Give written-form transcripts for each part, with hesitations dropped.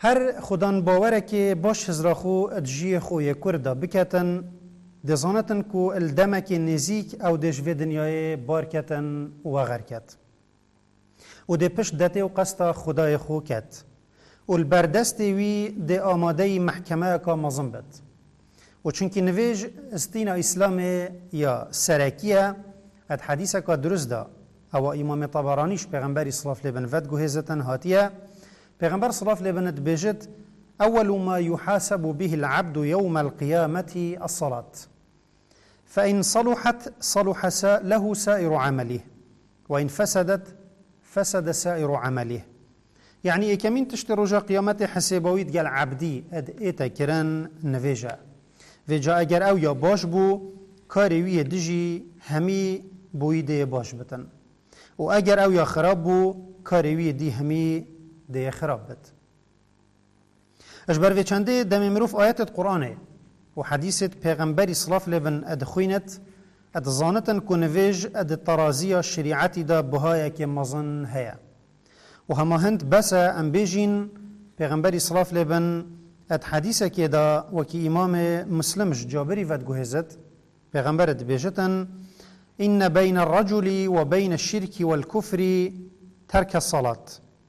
هر خودان باوره که باش هزراخو ادجی خوی کرده بکتن دزانتن کو الدمک نزیک او دجوی دنیای بارکتن و غرکت و ده پشت دته و قصد خدای خو کت و البردست وی ده آماده محکمه که مظم بد و چونکه نویج استینا اسلام یا سرکیه اد حدیثه که درست ده او امام طبرانیش پیغمبری صلاف لبن ود گوهزتن هاتیه پیغمبر صلاف لبن بجد أول ما يحاسب به العبد يوم القيامة الصلاة فإن صلحت صلح له سائر عمله وإن فسدت فسد سائر عمله يعني كمين تشتري رجاء قيامته حسابويت قال عبدي اد ايتا كران نفيجا فيجا اگر او يا باش بو كاريوية دجي همي بويده باش بتن و اگر او يا خراب بو كاريوية دي همي دي خراب بت اجبر في چنده دم مروف آيات القرآن و حديثة پیغمبري صلاف لبن اد خوينت اد زانتن كونفيج اد ترازية شريعتي دا بهايا كمزن هيا و هما هند بس ام بيجين پیغمبري صلاف لبن اد حديثة كدا وكي امام مسلمش جابري ود گوهزت پیغمبر اد بيجتن إن بين الرجل وبين الشرك والكفر ترك الصلاة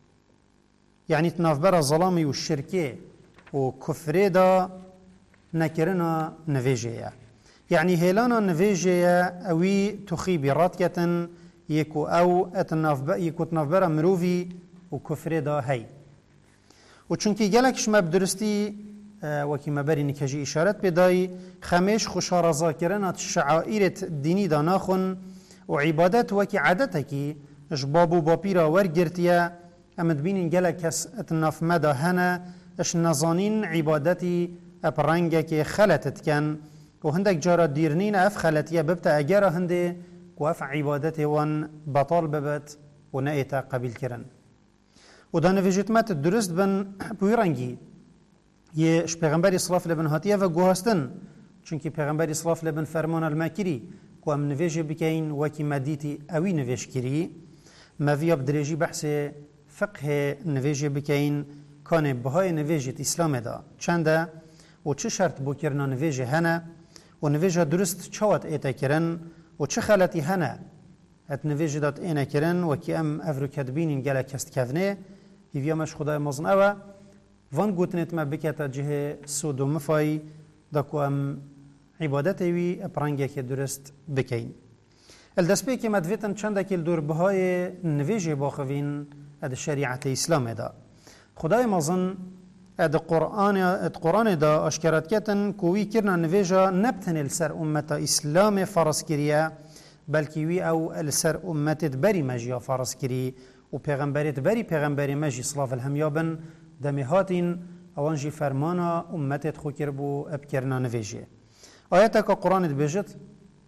يعني تنافبر الظلامي والشركي وكفر دا نكرنا نفيجيا يعني هيلانا نفيجيا اوي تخيبي راتكة يكو او يكو تنافبر مروفي وكفر دا هي وچونكي جالك شما بدرستي وكي مباري نكاجي إشارات بداي خميش خشار ذاكرنا الشعائر الديني دا ناخن وعبادات وكي عادتكي جبابو بابيرا ورگرتيا امد بینین گله کس اتناف مدا هنه اش نزانین عبادتی اپرنگه که خلطت کن و هندک جارا دیرنین اف خلطیه ببتا اگر هنده و اف عبادتی وان بطال ببت و نایتا قبیل کرن و دا نویجتمت درست بن بویرنگی یه اش پیغمبری صلاف لبن هاتیه و گوهستن چونکه پیغمبری صلاف لبن فرمان المکری که ام نویجه بکین وکی مدیتی اوی نویج کری مویا بدرجی بحث فقه نویجه بکین کانه بهای نویجت اسلام دا چنده و چه شرط بو کرنا نویجه هنه و نویجه درست چوات ایتا کرن و چه خلطی هنه ات نویجه دات اینا کرن و که ام افرو کدبینین گله کست کفنه هیویا مش خدای مزن اوه وان گوتنت ما بکتا جه سود و مفای دا که ام عبادت وی اپرانگه که درست بکین الدسبه که مدویتن چنده که دور بهای نویجه باخوین اد شریعت اسلام دا خدای مازن اد قرآن دا اشکرات کتن کوی کرنا نویجا نبتن السر امت اسلام فرض کریه بلکی وی او السر امتت بری مجیا فرض کری و پیغمبریت بری پیغمبری مجی صلاف الهمیابن دمیهاتین اوانجی فرمانا امتت خو کربو ابکرنا نویجه آیتا که قرآن بجت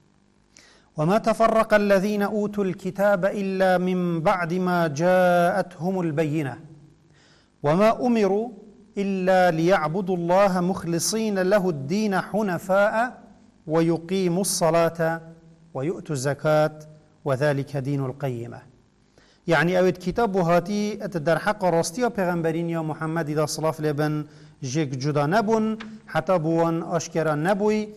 وما تفرق الذين أوتوا الكتاب إلا من بعد ما جاءتهم البينة وما أمروا إلا ليعبدوا الله مخلصين له الدين حنفاء ويقيموا الصلاة ويؤتوا الزكاة وذلك دين القيمة يعني أود كتاب هاتي أتدر حق راستيا پیغمبرين يا محمد دا صلاف لبن جيك جدا نبون حتى بوان أشكرا نبوي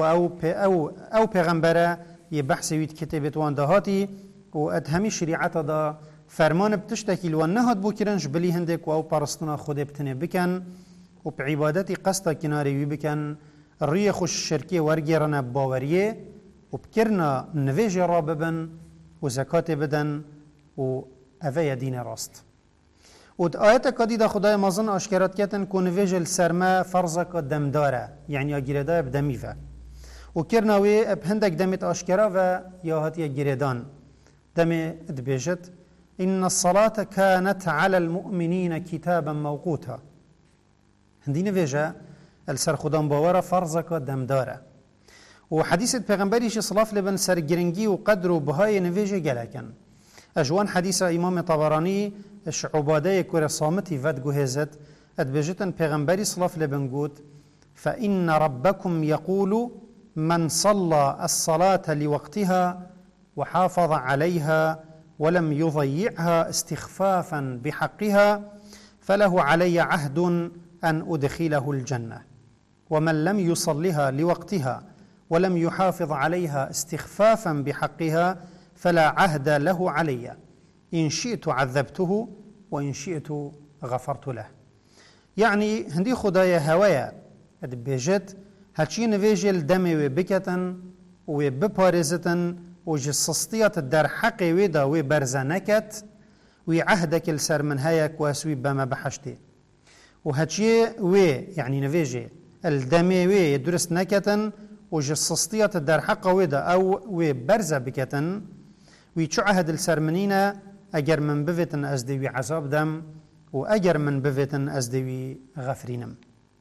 أو پیغمبره یه بحث وید کتابت وان دهاتی و ادهمی شریعت دا فرمان بتشتکیل و نهاد بو کرنش بلی هندک و او پرستنا خود بتنه بکن و به عبادتی قصد کناری وی بکن ری خوش شرکی ورگیرن باوریه و بکرنا نویج را ببن و زکات بدن و اوه دین راست و آیت کدی دا خدای مازن اشکرات کتن که نویج السرمه فرضک دمداره یعنی اگیرده بدمیفه و کرناوی بهندک دمت آشکرا و یا هاتیه گریدان دم ادبیجت إن الصلاة كانت على المؤمنين كتابا موقوتا هندی نویجه السر خودان باورا فرضك دمداره و حدیثت پیغمبریش صلاف لبن سرگرنگی و قدر و بهای نویجه گلکن اجوان حدیث امام طبرانی اش عباده کور صامتی ود گوهزت ادبیجتن پیغمبری صلاف لبن گود فإن ربكم يقول من صلى الصلاة لوقتها وحافظ عليها ولم يضيعها استخفافا بحقها فله علي عهد أن أدخله الجنة، ومن لم يصلها لوقتها ولم يحافظ عليها استخفافا بحقها فلا عهد له علي، إن شئت عذبته وإن شئت غفرت له. يعني هندي خدايا هوايا بيجت هاتشي نفيجل دمي وبكتن وببارزتن وجسستيات الدار حقي ويدا وبرزنكت وعهدك السر من هيك واسوي بما بحشتي وهاتشي يعني نفيجي الدمي يدرس نكتن وجسستيات الدار حقا ويدا او وبرزة بكتن ويشو عهد السر منينا اجر من بفتن ازدوي عذاب دم واجر من بفتن ازدوي غفرينم.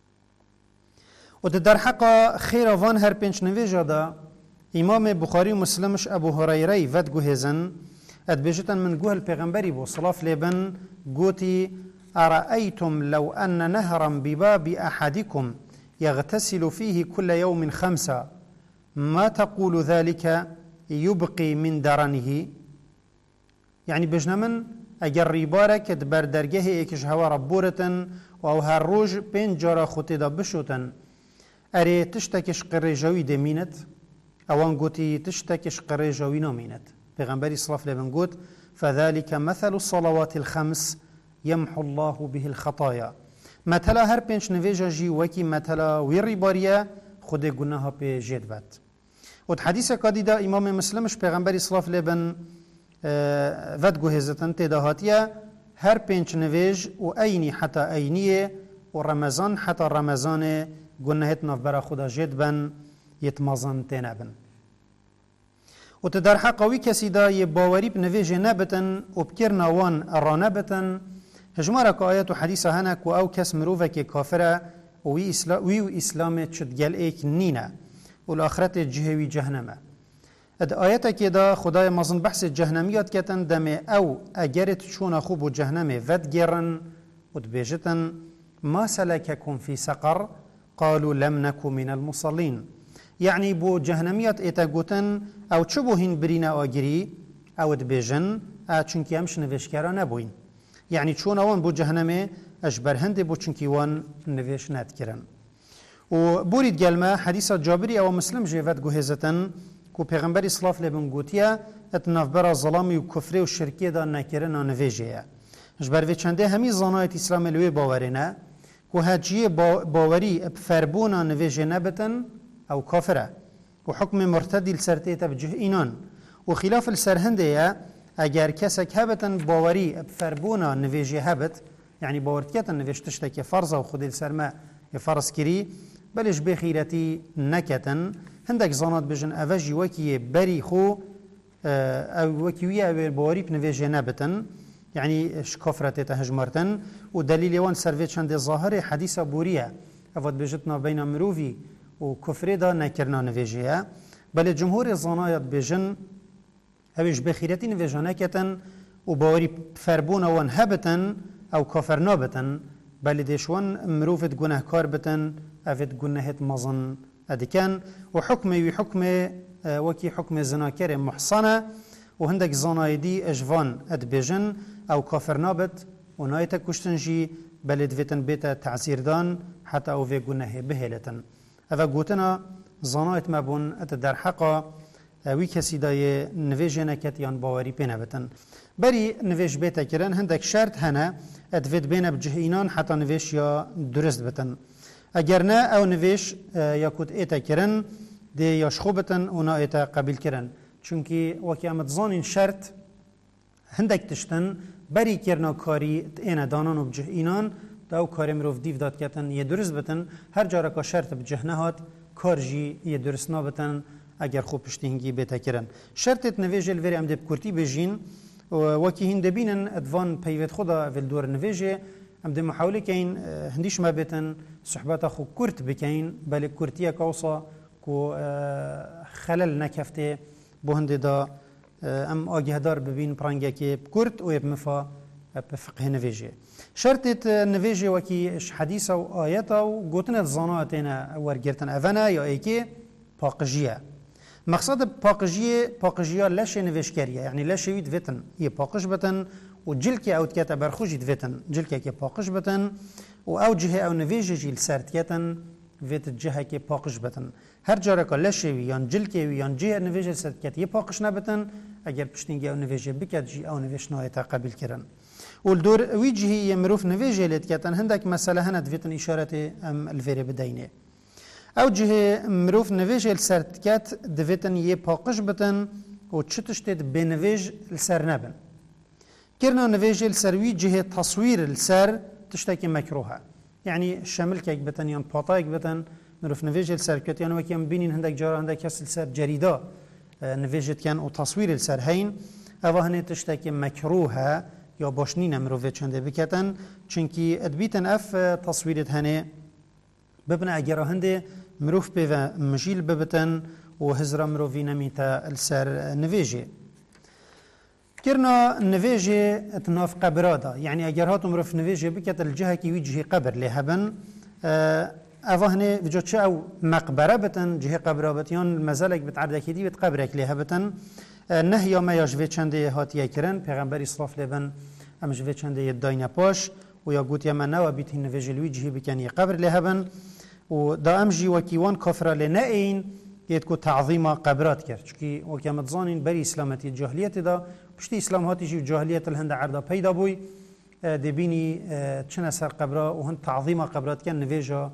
ودر حقا خير وان هر بنش نویجا دا امام بخاري ومسلمش ابو هريره ود جوهزن ادبجتن من جوه البيغمبري بو صلاف لبن قوتي أرأيتم لو أن نهرا بباب أحدكم يغتسل فيه كل يوم 5 ما تقول ذلك يبقي من درنه. يعني بجنمن اگر ریبارک دبر درگه ایکش هوا ربورتن و او هر روز 5 جارا خوتی دا بشوتن اری تشتکش قره جوی دمینت اوان گوتی تشتکش قره جوی نامینت. پیغمبری صلی الله علیه و گوت فذلك مثل الصلوات الخمس يمحو الله به الخطايا. مثلا هر 5 نویجا جی وکی مثلا وی ریباریا خود گناه پی جید بد. و حدیث کادی دا امام مسلمش پیغمبری صلی الله علیه ود گوهزتن تداهاتیه هر 5 نویج و اینی حتی اینیه و رمضان حتی رمضان گناهت نفبرا خدا جد بن یتمازن تنبن. و تدر حقاوی کسی دا یه باوری بنویج نبتن و بکر نوان ارانه بتن هجمارا که آیت و حدیث هنک و او کس مروفه که کافره وی اسلام چدگل ایک نینه و الاخرت جهوی جهنمه. اد آیت که دا خدای مازن بحث جهنمیات کتن دمه او اگرت چون خوب و جهنمه ود گرن و دبیجتن ما سلككم في سقر قالوا لم نكن من المصلين. يعني بو جهنميات ايتا گوتن او چبو هين برينا آگري او دبيجن چونكي همش نوشكرا نبوين. يعني چون اوان بو جهنمه اجبر هند بو چونكي وان نوش ندكرن. و بوريد گلمه حديث جابري او مسلم جيفت گوهزتن کو پیغمبر اسلام لبن گوتیا اتنافبر ظلامی و کفری و شرکی دا نکرن نویجه. اجبر و چنده همی زانایت اسلام لوی باورینه کو هجیه باوری بفربونا نویجه نبتن او کافره و حکم مرتدی لسرتیت بجه اینان و خلاف السرهنده اگر کسک هبتن باوری بفربونا نویجه هبت يعني باورتكت نویش تشتك فرض و خود السرما فرض كري بلش بخيرتي نكتن هندك زانات بجن أفجي وكي بري خو أو وكيوية أو باوري بنويجه نبتن يعني شكفرة تهجمرتن ودليل وان سرفيت شند ظاهر حديث بورية أفضل بجتنا بين مروفي وكفر دا نكرنا نويجه بل جمهور الزانات بجن أوش بخيرتي نويجه نكتن وباوري فربون وان هبتن او کافر نابتن بل دیشوان مروفت گناه کار بتن افت گناهت مزن ادکن و حکمی و حکم وکی حکم زناکر محصنه و هندک زنایدی اجوان ادبیجن او کافر نابت و نایت کشتنجی بل دویتن بیت تعزیر دان حتی او وی گناه بهلتن اوه گوتنا زنایت مبون ات در حقا وی کسی دای نویج نکت یان باوری پینه بتن بری نویج بیت کرن هندک شرط هنه ادوید بین بجه اینان حتی نویش یا درست بتن اگر نه او نویش یا کود ایتا کرن دی یا شخو بتن اونا ایتا قبیل کرن چونکی وکی امت زانین شرط هندک تشتن بری کرنا کاری اینا دانان و بجه اینان دا او کاری مروف دیو داد کتن یه درست بتن هر جارا که شرط بجه نهاد کار جی یه درست نابتن اگر خوب پشتینگی بیتا کرن شرطت نویج الوری ام دب کرتی بجین وکی هند بینن ادوان پیوت خدا في الدور نویجه ام ده محاوله کین هندیش ما بتن صحبات خو کرت بکین بل کرتیه کوصا کو خلل نکفته بو هند دا ام آگهدار ببین پرانگه که کرت و مفا بفقه نویجه شرطت نویجه وکی حدیث و آیت و گوتن زاناتنا ورگرتن اونا یا ایکی پاقجیه مقصد پاقجیه لش نوشکریه یعنی لش وید وتن یه پاقش بتن و جلکی او تکتا برخوشی دویتن جلکی که پاقش بتن و او جهه او نویجه جیل سرتیتن ویت جهه که پاقش بتن هر جاره که لشوی یان جلکی وی یان جهه نویجه سرتیت یه پاقش نبتن اگر پشتینگی او نویجه بکد جی او نویش نایتا قبیل کرن والدور وی جهه مروف نویجه لیتکتن هندک مسئله هند ویتن اشارت ام الفیره بدینه او جهه مروف نویجه سرتیت دویتن یه پاقش بتن و چتشتت بنویج السر نبن كرنا نویج السروی جهه تصویر السر تشتكي مكروهه يعني شامل كيك بتن يان باطايك بتن مروف نویج السر كت يعني وكيم بينين هندك جارا هندك كاس السر جريده نویجت كان وتصوير السر هين اوا هني تشتكي مكروهه يا باشنين مروفه چنده بكتن چونكي ادبيتن اف تصويرت هني ببنا اگر هنده مروف به مجيل ببتن وهزرا مروفي نميتا السر نویجه كرنا نویجه اتناف قبرادا يعني اگر هاتم رف نویجه بكت الجهه كي وجهه قبر لهبن اوهنه وجوتش او مقبره بتن جهه قبره بتيان مزالك بتعرض كدي بتقبرك لهبتن نهي ما يجوي چنده هاتيه كرن پیغمبر اسراف لبن ام جوي چنده يداينا باش ويا قوت يمنا وبيت نویجه الوجهه بكن قبر لهبن ودا امجي وكيوان كفر لنائين يتكو تعظيم قبرات كرد چكي وكما تظانين بري اسلامتي الجاهليه دا پشتی اسلام هاتی جیو جاهلیت الهند عرضه پیدا بوی دبینی چنه سر قبرا و هند تعظیم قبرات کن نویجا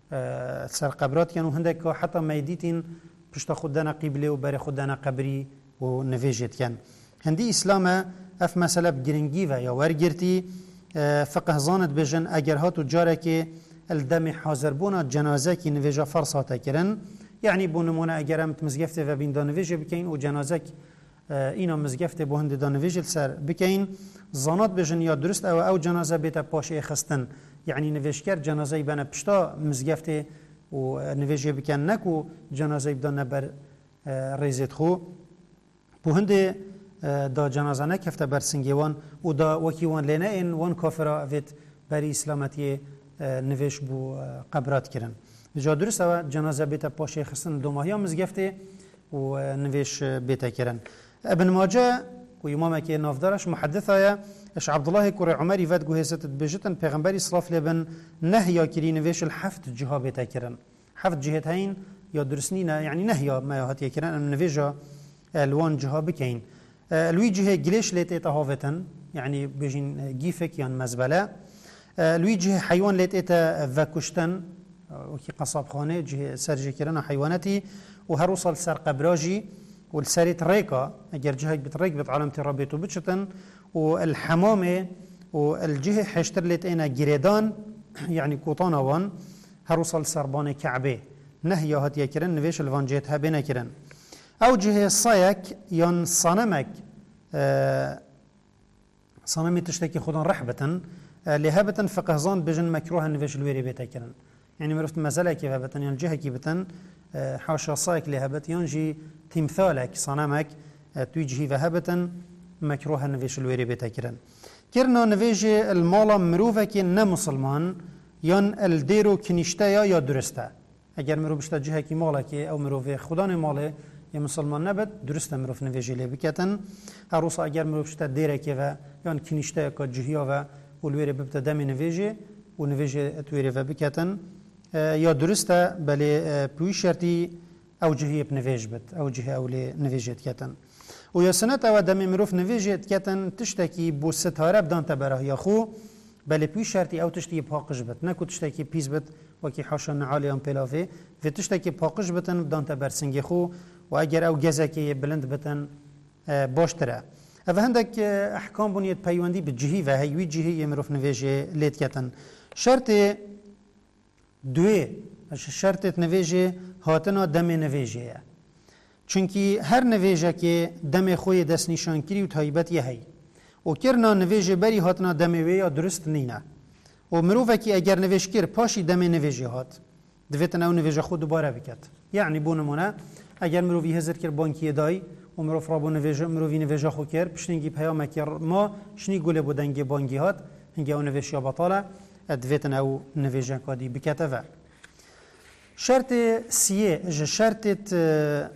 سر قبرات کن و هندک حتی میدیتین پشت خودنا قبله و بر خودنا قبری و نویجت کن هندی اسلام اف مسئله بگرنگی و یا ورگرتی فقه زاند بجن اگر هاتو جاره که الدم حاضر بونا جنازه کی نویجا فرصاته کرن یعنی بونمونه اگر هم تمزگفته و بین دا نویجه بکین و جنازه اینا مزگفت به هند دانویجل سر بکین زانات بجن یا درست او جنازه بیت پاشه خستن یعنی نویشگر جنازه بنا پشتا مزگفت و نویجه بکن نکو جنازه بدن بر ریزت خو به هند دا جنازه نکفته بر سنگیوان و دا وکیوان لینه این وان کافرا ویت بری اسلامتی نویش بو قبرات کرن جا درست او جنازه بیت پاشه خستن دو ماهی مزگفت و نویش بیت کرن ابن ماجه وإمامك نافدارش محدثة اش عبد الله كوري عمري فات جوهزت بجتن پیغمبري صلاف لبن نهي كرين ويش الحفت جهة تكرن حفت جهة هين يا درسنينا يعني نهي ما يهات يكرن ان نفيجا الوان جهة بكين لوي جهة جليش ليت هافتن يعني بيجين جيفك يعني مزبله لوي جهة حيوان ليت فكشتن وكي قصاب خانه جهة سرجي كرنا حيواناتي وهروصل سر قبراجي والسريت ريكا اگر جهه بتريك بتعلمة ربيتو بتشتن والحمامه والجهه حشتر لت انا جريدان يعني كوطانا وان هروصل سربان كعبه نهي هات يكرن نويش الفانجيت هبنا كرن او جهه صايك ين صنمك صنمي تشتكي خدان رحبه لهبه فقهزان بجن مكروه نويش الويري بيتا كرن يعني مرفت مساله كيف هبتن يعني جهه كي بتن حاشا صايك لهبت ينجي تمثالك صنمك توجهي وهبة مكروه نويش الويري بتكرن كرنا نويش المالا مروفك نمسلمان ين الديرو كنيشتايا يا درستا اگر مروف بشتا جهه كي مالك او مروف خدان ماله يا مسلمان نبت درستا مروف نويش لي بكتن هروسا اگر مروف بشتا ديرك و ين كنيشتايا كجهيا و والويري ببتا دم نويش ونويش تويري وبكتن یا درسته بله پوی شرطی او جهی بنویج بد او جهه اولی نویجت کتن و یا سنت او دم مروف نویجت کتن تشتکی بو ستاره بدان تبره یا خو بله پوی شرطی او تشتی پاقش بد نکو تشتکی پیز بد وکی حاشا نعالی ام پلافه و تشتکی پاقش بدن بدان تبرسنگ خو و اگر او گزکی بلند بتن باشتره او هندک احکام بنیت پیوندی به جهی و هیوی جهی مروف نویجه لیت کتن شرط دوی شرطت نویجه هاتنا دم نویجه چونکی هر نویجه که دم خوی دست نشان کری و تایبت یه هی و کرنا نویجه بری هاتنا دم ویا درست نینه و مروفه که اگر نویج کر پاشی دم نویجه هات دویتن او نویجه خود دوباره بکت یعنی بونمونه اگر مروفی هزر کر بانکی دای و مروف را بو نویجه مروفی نویجه خو کر پشتنگی پیامه کر ما شنی گله بودنگی بانگی هات هنگی او نویج یا بطاله ادویتن او نویجه کادی بکته و شرط سیه شرطت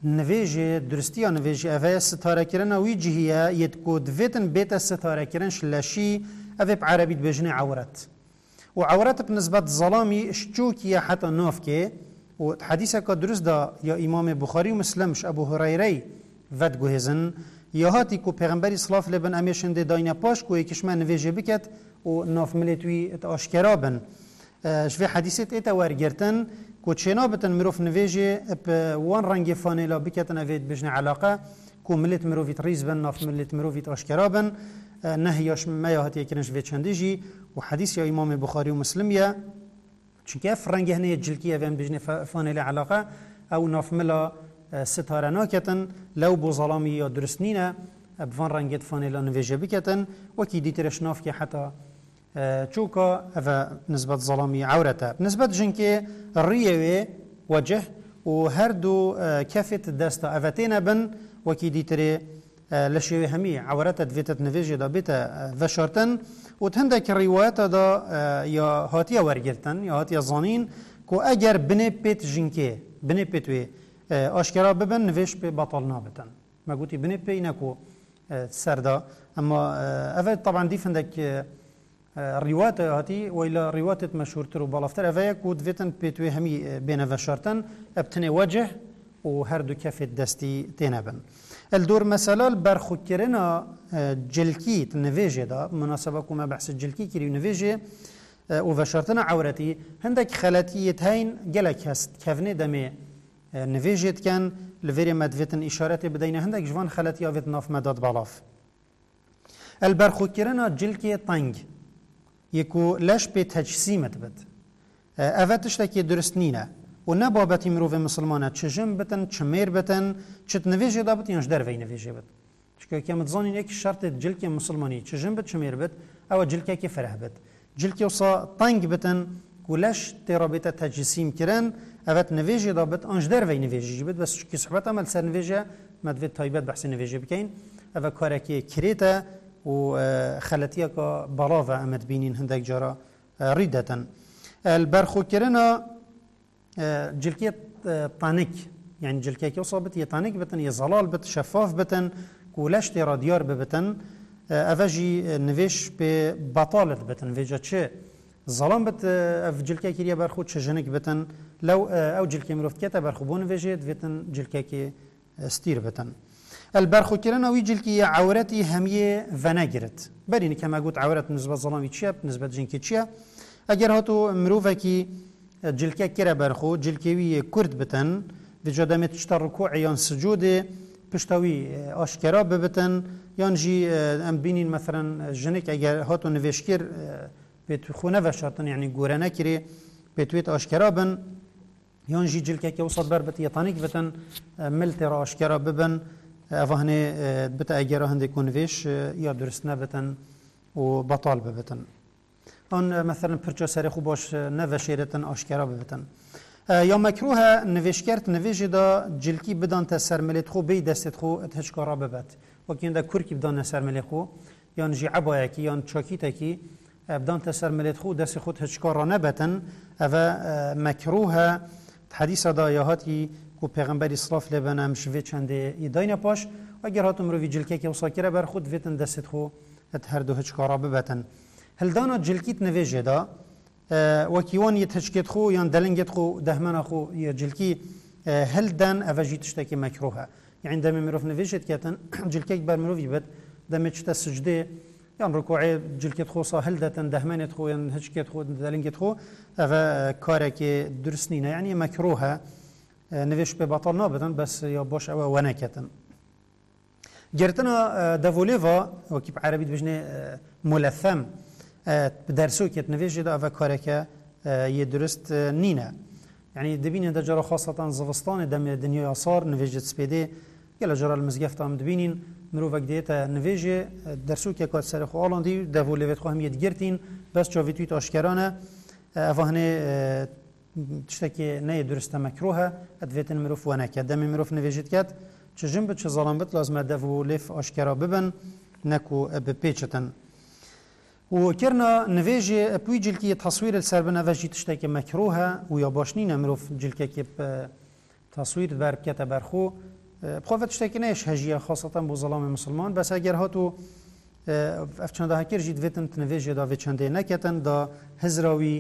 نویجه درستی نویجه اوه ستاره کرن وی جهیه ید کود ویتن بیت ستاره کرن شلشی اوه بعربی بجنه عورت و عورت بالنسبة ظلامي شجوكي حتى نافكي وحديثة كدرس دا يا إمام بخاري ومسلمش أبو هريرة ود جهزن يا هاتي كو پیغمبري صلاة لبن أميشن دي داينا باش كو يكشما نفيجي بكت وناف ملتوي اتاشكرابن شوي حديثة اتا ورگرتن كو تشينابتن مروف نفيجي وان رنگي فانيلا بكتن أفيد بجن علاقة كو ملت مروفيت ريزبن ناف ملت مروفيت اشكرابن نهياش ما يهاتي يكنش في چندجي وحديث يا إمام بخاري ومسلم يا چونکه فرنگی هنی جلکیه ویم بجنه فانیل علاقه او نافملا ستاره ناکتن لو بو ظلامی یا درست نینه بفان رنگت فانیلا نویجه بکتن وکی دیترش ناف که حتی چوکا او نسبت ظلامی عورته نسبت جنکه ریوه وجه و هر دو کفت دستا اوتین بن وکی دیتره لشيوي همي عورات دفيتت نفيجي دا بيتا وشارتن وتهندك الروايات دا يا هاتيا ورگرتن يا هاتيا ظانين كو اگر بني بيت جنكي بني بيتوي اشكرا ببن نفيش بي بطل نابتن ما قلتي بني بي نكو سردا اما افاد طبعا دي فندك الروايات هاتي وإلى روايات مشهور ترو بالافتر افايا كو دفيتن بيتوي همي بين وشارتن ابتني وجه وهر دو كفت دستي تينبن الدور مثلا برخو كرنا جلكي تنفيجي دا مناسبة كما بحث الجلكي كريو نفيجي وفشرتنا عورتي هندك خلاتية هين جلك هست كفني دمي نفيجيت كان لفيري مدفتن إشارتي بدينا هندك جوان خلاتية وفيت ناف مداد بالاف البرخو كرنا جلكي طنج يكو لاش بتجسيمت بد أفتش لكي درستنينا و نبابتی مروف مسلمانه چجم بتن چمیر بتن چت نویجه دا بت یانش در وی نویجه بت چکه که متزانین یک شرط جلک مسلمانی چجم بت چمیر بت او جلکه کی فرح بت جلکه وصا طنگ بتن کولش ترابطه تجسیم کرن اوت نویجه دا بت آنش در وی نویجه بت بس کی صحبت عمل سر نویجه مدوی تایبت بحث نویجه بکین او کارکی کریتا و خلطیه که بلاوه امد بینین هندک جارا ریدتن البرخو کرنا جلكية طانك يعني جلكية كيوصابت يطانك بتن يزلال بت شفاف بتن كولاش ترى ديار ببتن افجي نفيش ببطالة بتن فيجا تشي ظلام بت اف جلكية كيريا برخود شجنك بتن لو او جلكية مروفت كتا برخوبون فيجيت بتن جلكية ستير بتن البرخو كيرنا وي جلكية عورتي همية فناجرت بريني كما قلت عورت نسبة ظلامي تشيا نسبة جنكي تشيا اگر هاتو مروفكي جلكه كره برخو جلكوي كرد بتن بجدمت تشتر ركوع يان سجود پشتوي اشكرا ببتن يان جي ام بينين مثلا جنك اگر هاتو نوشكر بيت خونه وشرطن يعني غورنا كري بيتويت اشكرا بن يان جي جلكه كي وصل بربت يطانيك بتن ملتر اشكرا ببن افهني بتا اگر هندي كونفيش يا درسنا بتن وبطال ببتن آن مثلا پرچه سری خوب باش نوشیرتن آشکارا ببتن یا مکروه نوشکرت نوشی دا جلکی بدان تا سرملیت خو بی دستت خو اتهشکارا ببت وکین دا کرکی بدان سرملیت خو یا نجی عبایه کی یا چاکیته کی بدان تا سرملیت خو دست خود هشکارا نبتن و مکروه حدیث دا یا هاتی کو پیغمبری صلاف لبنم شوی چنده ایداین پاش اگر هاتم رو وی جلکی که وساکره بر خود ویتن دستت خو هر دو هشکارا ببتن هل دانا جلكيت نفيجه دا وكيوان يتهشكت خو يان دلنجت خو دهمنا خو يا جلكي هل دان افاجي تشتكي مكروهه يعني دم مروف نفيجت كاتن جلكيك بر مروف يبت دم تشتا سجده يان ركوعي جلكيت خو صا هل دتن دهمنت خو يان هشكت خو دلنجت خو افا كارك درسنينا يعني مكروهه نفيش ببطل نابتن بس يا باش او ونكتن جرتنا دافوليفا وكيب عربي بجنه ملثم بدرسو كت نفيجي دا أفا كاركا يدرست نينا يعني دبينين دا جرى خاصة زفستان دم الدنيا يصار نفيجي تسبيدي يلا جرى المزقفت عم دبينين مروفك ديتا نفيجي درسو كي كات سرخو آلاندي دافو ليفت خو هم يدگرتين بس جاويتويت أشكرانه أفا هني تشتكي ناي درست مكروها أدفيتن مروف وناكا دم مروف نفيجيت كات چه جنب چه ظلام بت لازم دافو ليف أشكرا ببن نكو ببيچتن وكرنا نفيجي بوي جلكي تصوير السربنا فاجي تشتكي مكروهه ويا باشنين مروف جلكي تصوير بركته برخو بخوفت اشتكي نيش هجية خاصة بظلام مسلمان بس اگر هاتو افچنده هکر جید ویتن تنویجه دا ویچنده نکتن دا هزراوی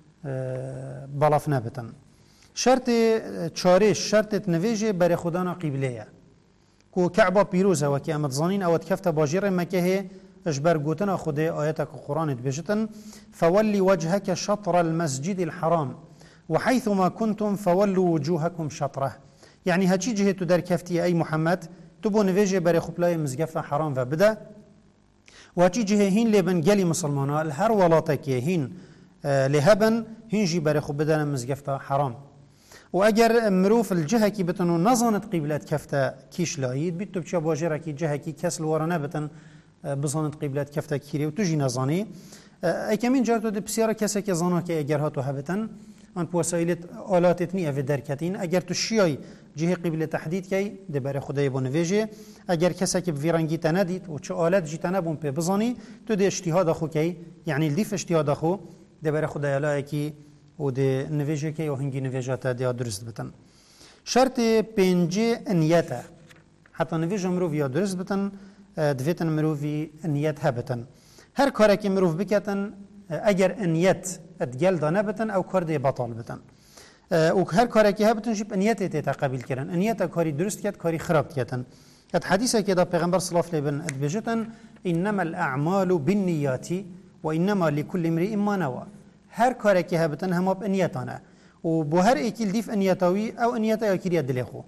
بالاف نبتن شرط چارش شرط تنویجه بر خدانا قبله کو كعبة بيروزة وكي أمد ظنين أو تكفت باجير مكه اجبر قوتنا خده آياتك القرآن بجتن فولي وجهك شطر المسجد الحرام وحيثما كنتم فولوا وجوهكم شطره يعني هاتشي جهتو در كفتي أي محمد تبو نفيجي بري خبلاي مزقفة حرام فبدا وهاتشي جهه هين لبن قلي مسلمانا الهر ولاتك هين لهبن هنجي بري خبدا مزقفة حرام واگر مروف الجهه کی بتنو نزانت قبلت کفته کیش لاید بیت تو بچه باجره کی جهه کی کسل وارنه بتن بزانت قبلت کفته کیری و تو جی نزانی ای کمین جارتو ده بسیار کسی که زانا که اگر هاتو هبتن آن وسایل آلاتت نیه و درکتین اگر تو شیای جهه قبل تحدید کی ده بر خدای بونویجه اگر کسی که ویرانگی تندید و چه آلت جی تنبون په بزانی تو ده اجتهاد خو کی یعنی الدیف اجتهاد خو ده بر خدای لا کی و ده نویجه که و هنگی نویجات ده درست بتن شرط پنجه انیته حتی نویجه مروف یا درست بتن دویتن مروفی انیت هبتن هر کاری که مروف بکتن اگر انیت ادگل دانه بتن او کار ده بطال بتن و هر کاری که هبتن شب انیت تقبل کردن انیت کاری درست کرد کاری خراب کردن ات حدیثه که دا پیغمبر صلی الله علیه و آله ادبجتن انما الاعمال بالنیات و انما لكل امرئ ما نوى هر کاری که هبتن هم با انیتانه و بو هر ایکیل دیف انیتاوی او انیتا یا کریه دلی خو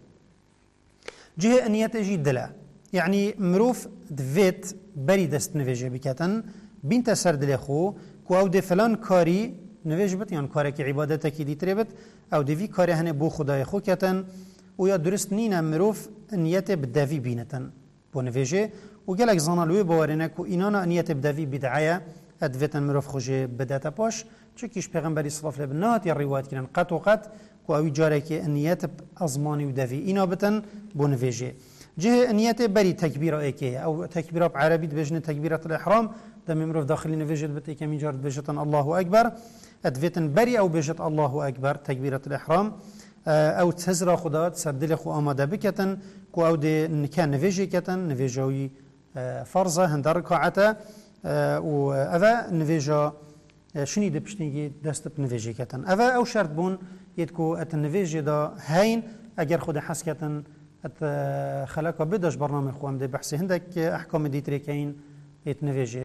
جه انیت جی دله یعنی مروف دویت بری دست نویجه بکتن بینت سر دلی خو کو او ده فلان کاری نویج بت یعنی کاری که عبادت کی دیتره بت او دوی کاری هنه بو خدای خو کتن و یا درست نینه مروف انیت بدوی بینتن بو نویجه و گلک زانالوی باورینه کو اینانا انیت بدوی بدعایه ادویتن مروف خوشه بداتا پاش چکیش پیغمبری صلی الله علیه و آله یا روایت کردن قط و قط کو اوی جاره که انیت ازمانی و دوی اینا بتن بو نویجه جه انیت بری تکبیره ایکه او تکبیره بعربی بجنه تکبیره الاحرام دم مروف داخلی نویجه بت ایکه می جارد بجتن الله اکبر ادویتن بری او بجت الله اکبر تکبیره الاحرام او تزرا خدا سردل خو آماده بکتن کو او ده نکان نویجه کتن نویجوی فرضه هندر رکعته و اوه نویجه شنی ده پشتنگی دست بنویجه کتن اوه او شرط بون یدکو ات نویجه دا هین اگر خود حس کتن ات خلاقه بداش برنامه خوام ده بحثی هندک احکام دیتری که این ات نویجه